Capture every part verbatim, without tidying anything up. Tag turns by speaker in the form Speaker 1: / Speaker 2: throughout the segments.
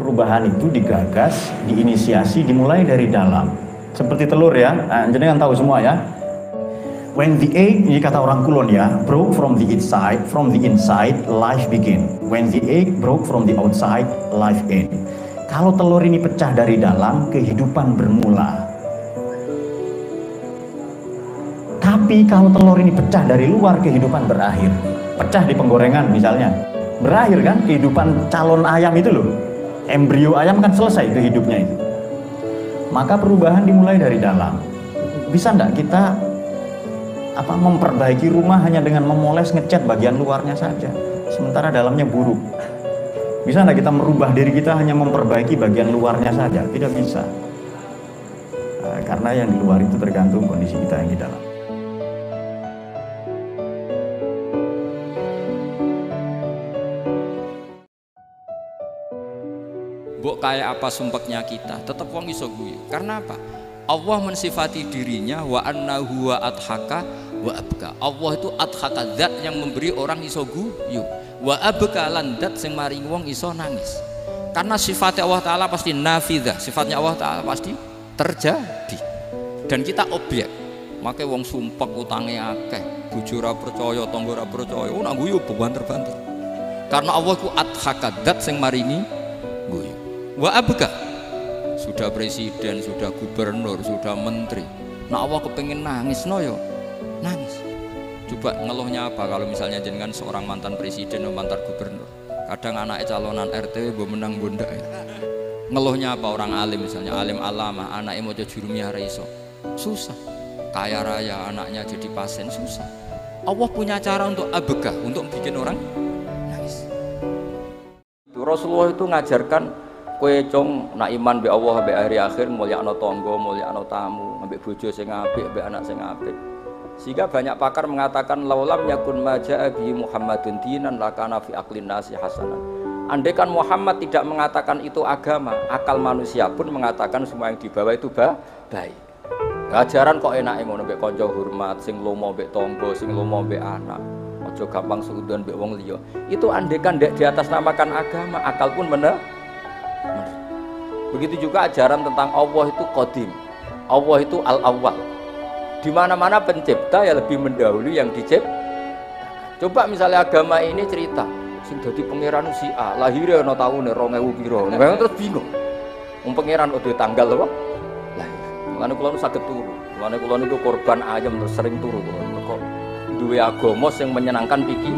Speaker 1: perubahan itu digagas, diinisiasi, dimulai dari dalam. Seperti telur ya, nah, jenengan tahu semua ya. When the egg, ini kata orang Kulon ya, broke from the inside, from the inside, life begin. When the egg broke from the outside, life end. Kalau telur ini pecah dari dalam, kehidupan bermula. Tapi kalau telur ini pecah dari luar, kehidupan berakhir. Pecah di penggorengan misalnya, berakhir kan kehidupan calon ayam itu loh. Embrio ayam kan selesai itu hidupnya itu. Maka perubahan dimulai dari dalam. Bisa enggak kita apa memperbaiki rumah hanya dengan memoles ngecat bagian luarnya saja, sementara dalamnya buruk? Bisa enggak kita merubah diri kita hanya memperbaiki bagian luarnya saja? Tidak bisa. Nah, karena yang di luar itu tergantung kondisi kita yang di dalam.
Speaker 2: Mbok kayak apa sumpeknya kita, tetap wong iso guyu. Karena apa? Allah mensifati dirinya wa annahu wa adhaka wa abka. Allah itu adhaka, zat yang memberi orang iso guyu. Wa abka lan zat sing maring wong iso nangis. Karena sifatnya Allah Ta'ala pasti nafidzah, sifatnya Allah Ta'ala pasti terjadi. Dan kita objek. Makanya wong sumpek utange akeh, bojo ora percaya, tangga ora percaya, oh nak guyu banter-banter. Karena Allah itu adhaka, zat sing maringi guyu. Wa abka, sudah presiden, sudah gubernur, sudah menteri, nah Allah kepengen nangis no yo nangis. Coba ngeluhnya apa kalau misalnya jenengan seorang mantan presiden atau mantan gubernur, kadang anaknya calonan R T W menang bunda ya. Ngeluhnya apa orang alim, misalnya alim alama, anaknya mau jadi jurumiyah iso, susah. Kaya raya anaknya jadi pasien, susah. Allah punya cara untuk abka, untuk bikin orang nangis. Rasulullah itu ngajarkan kue cong nak iman be Allah be hari akhir, mulyakno tangga, mulyakno tamu, ambek bojo sing apik, ambek anak sing apik. Sehingga banyak pakar mengatakan laulam yakun maja'a bi Muhammadun dinan lakana fi aqlin nasi hasanan. Andai kan Muhammad tidak mengatakan itu agama, akal manusia pun mengatakan semua yang dibawa itu baik. Ajaran kok enake ngono mbek kanca hormat, sing lomo mbek tangga, sing lomo mbek anak. Aja gampang suudon mbek wong liya. Itu andai kan ndek di atas namakan agama, akal pun bener. Begitu juga ajaran tentang Allah itu qadim, Allah itu al-awwal. Di mana-mana pencipta ya lebih mendahului yang dicipta. Coba misalnya agama ini cerita, sing dadi pangeran si A, lahirnya ana taune dua ribu piro. Memang terus bingung. Wong pangeran udah tanggal apa? Lahir. Mulane kula nu saged turu. Mulane kula niku korban ayam terus sering turu kula. Mergo duwe agama sing menyenangkan pikir.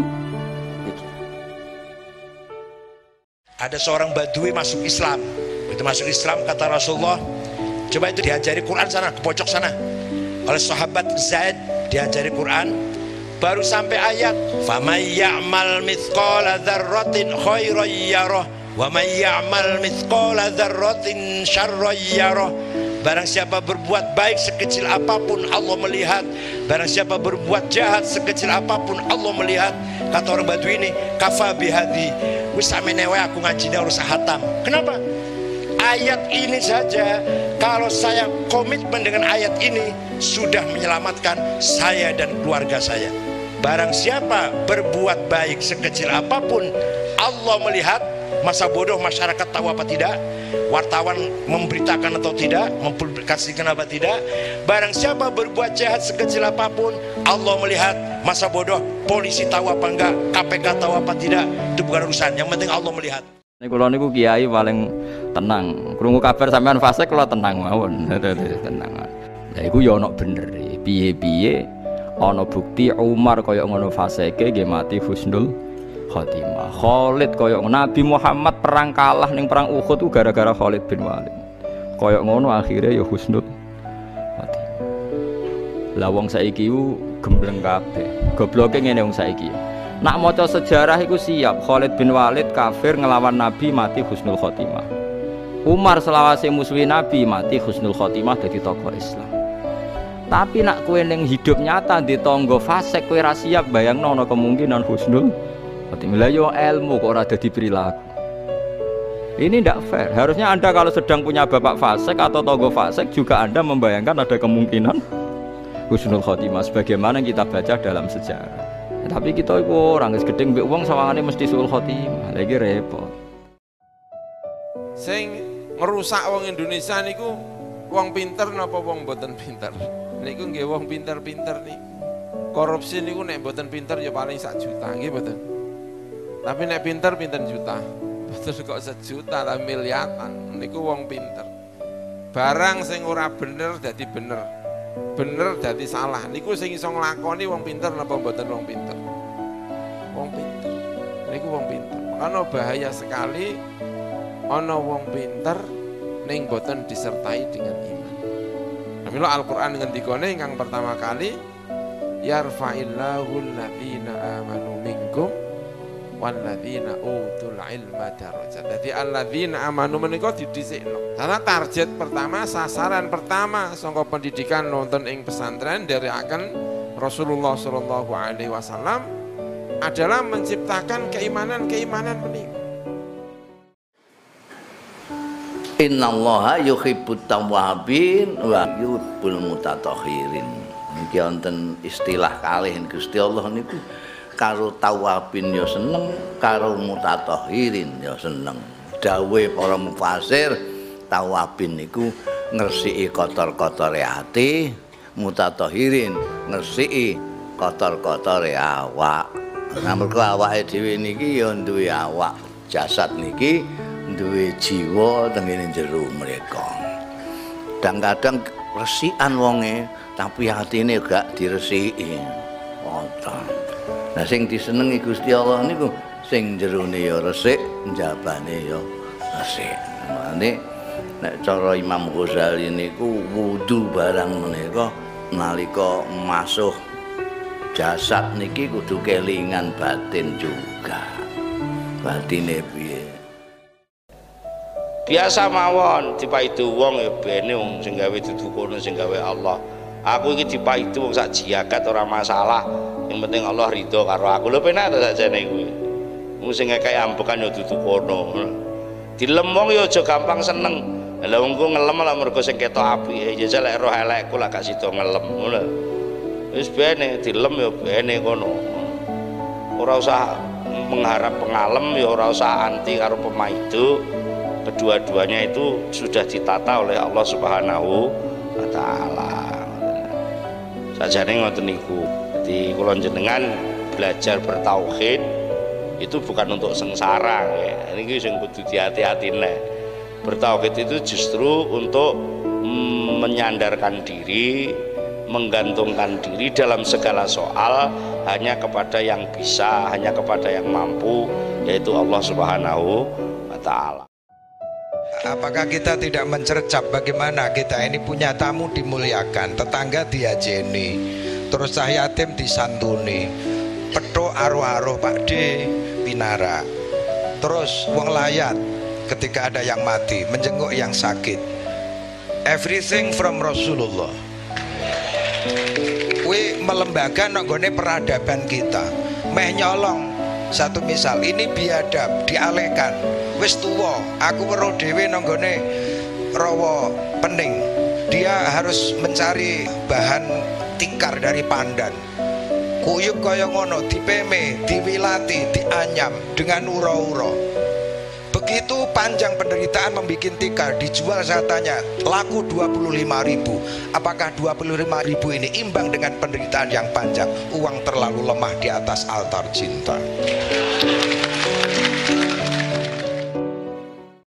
Speaker 3: Ada seorang badui masuk Islam. Itu masuk Islam kata Rasulullah, coba itu diajari Quran sana, ke pojok sana. Oleh sahabat Zaid diajari Quran, baru sampai ayat famay ya'mal mithqala dzarratin khairan yarah wa may ya'mal mithqala dzarratin syarran yarah. Barang siapa berbuat baik sekecil apapun Allah melihat, barang siapa berbuat jahat sekecil apapun Allah melihat. Kata orang Badui ini, kafa bihadi wis amenewe aku ngajine harus hatam. Kenapa? Ayat ini saja, kalau saya komitmen dengan ayat ini, sudah menyelamatkan saya dan keluarga saya. Barang siapa berbuat baik sekecil apapun Allah melihat. Masa bodoh masyarakat tahu apa tidak, wartawan memberitakan atau tidak, mempublikasikan apa tidak. Barang siapa berbuat jahat sekecil apapun Allah melihat. Masa bodoh polisi tahu apa enggak, K P K tahu apa tidak, itu bukan urusan, yang penting Allah melihat. Ini kalau niku kiai paling tenang, krungu kabar sampean fase kalau tenang mawon, tenang. Lah iku ya ono bener, piye-piye ono bukti Umar kaya ngono faseke nggih mati husnul khotimah. Khalid koyok Nabi Muhammad perang kalah ning perang Uhud itu gara-gara Khalid bin Walid. Koyok ngono akhirnya ya husnul khotimah. Lah wong saiki ku gembleng kabeh. Gobloke ngene wong saiki. Nak maca sejarah iku siap Khalid bin Walid kafir ngelawan Nabi mati husnul khotimah. Umar selawase musuhi Nabi mati husnul khotimah dadi tokoh Islam. Tapi nak kowe ning hidup nyata di tangga fasik kowe ra siap bayangno ana kemungkinan husnul khotimah yo ilmu kok ora dadi perilaku. Ini tidak fair. Harusnya Anda kalau sedang punya bapak fasik atau togo fasik juga Anda membayangkan ada kemungkinan husnul khotimah sebagaimana kita baca dalam sejarah. Ya, tapi kita itu orang gedeng mbek wong sawangane mesti suul khotimah. Lagi repot.
Speaker 4: Sing ngerusak wong Indonesia niku wong pinter napa wong boten pinter? Niku nggih wong pinter-pinter niku. Korupsi niku nek boten pinter ya paling sak juta nggih boten. Tapi nek pinter pinten juta. Boten kok sejuta tapi miliaran niku wong pinter. Barang sing ora bener dadi bener. Bener dadi salah. Niku sing iso nglakoni wong pinter napa boten wong pinter? Wong pinter. Niku wong pinter. Makanya bahaya sekali ana wong pinter ning boten disertai dengan iman. Namanya Al-Qur'an ngendikane ingkang pertama kali yarfa'illahu alladzina amanu minkum walladzina utul ilma darajat. Dadi alladzina amanu menika didhisikno. Karena target pertama, sasaran pertama saka pendidikan nonton ing pesantren dari akan Rasulullah sallallahu alaihi wasallam adalah menciptakan keimanan-keimanan menika.
Speaker 5: Innallaha yuhibbut tawwabin wa yuhibbul mutatahhirin. Niki wonten istilah kalih Gusti Allah niku karo tawwabin ya seneng, karo mutatahhirin ya seneng. Dawuhe para mufasir, tawwabin niku ngresiki kotor-kotore ati, mutatahhirin ngresiki kotor-kotore awak. Nah mergo awake dhewe niki ya duwe awak, jasad niki duwe jiwa tengene jero mereka. Kadang-kadang resikan wonge tapi atine gak diresiki. Wonten. Nah sing disenengi Gusti Allah niku sing jerone ya resik, njabane ya resik. Mane nek cara Imam Ghazali niku wudu barang menika nalika masuh jasad niki kudu kelingan batin juga. Batine piye?
Speaker 6: Biasa mawon dipaidu wong ya bene wong sing gawe dudu kono sing gawe Allah. Aku iki dipaidu wong sak jagat ora masalah. Yang penting Allah ridho karo aku. Lho penak ta sakjane kuwi. Wong sing ngekek ambekan ya dudu kono. Dilem wong ya aja gampang seneng. Lah wong ku ngelem lah mergo sing ketok apike. Ya lek roh elekku lah gak sida ngelem ngono. Wis bene dilem ya bene kono. Ora usah mengharap pengalem ya ora usah anti karo pemaidu. Kedua-duanya itu sudah ditata oleh Allah Subhanahu wa taala. Sajane ngoten niku. Dadi kula jenengan belajar bertauhid itu bukan untuk sengsara ya. Niki sing kudu diati-atine. Bertauhid itu justru untuk mm, menyandarkan diri, menggantungkan diri dalam segala soal hanya kepada yang bisa, hanya kepada yang mampu, yaitu Allah Subhanahu wa taala.
Speaker 3: Apakah kita tidak mencercap bagaimana kita ini punya tamu dimuliakan, tetangga diajeni, terus cah yatim disantuni, petuk aruh-aruh Pak D pinara, terus wong layat ketika ada yang mati menjenguk yang sakit. Everything from Rasulullah. Kuwi melembaga nggone peradaban kita. Meh nyolong satu misal ini biadab dialihkan. Wis tuwa, aku weruh dhewe nanggone rawa pening. Dia harus mencari bahan tikar dari pandan. Kuyup kaya ngono dipeme, diwilati, dianyam dengan ura-ura. Begitu panjang penderitaan membuat tikar, dijual saya tanya, laku dua puluh lima ribu. Apakah dua puluh lima ribu ini imbang dengan penderitaan yang panjang? Uang terlalu lemah di atas altar cinta.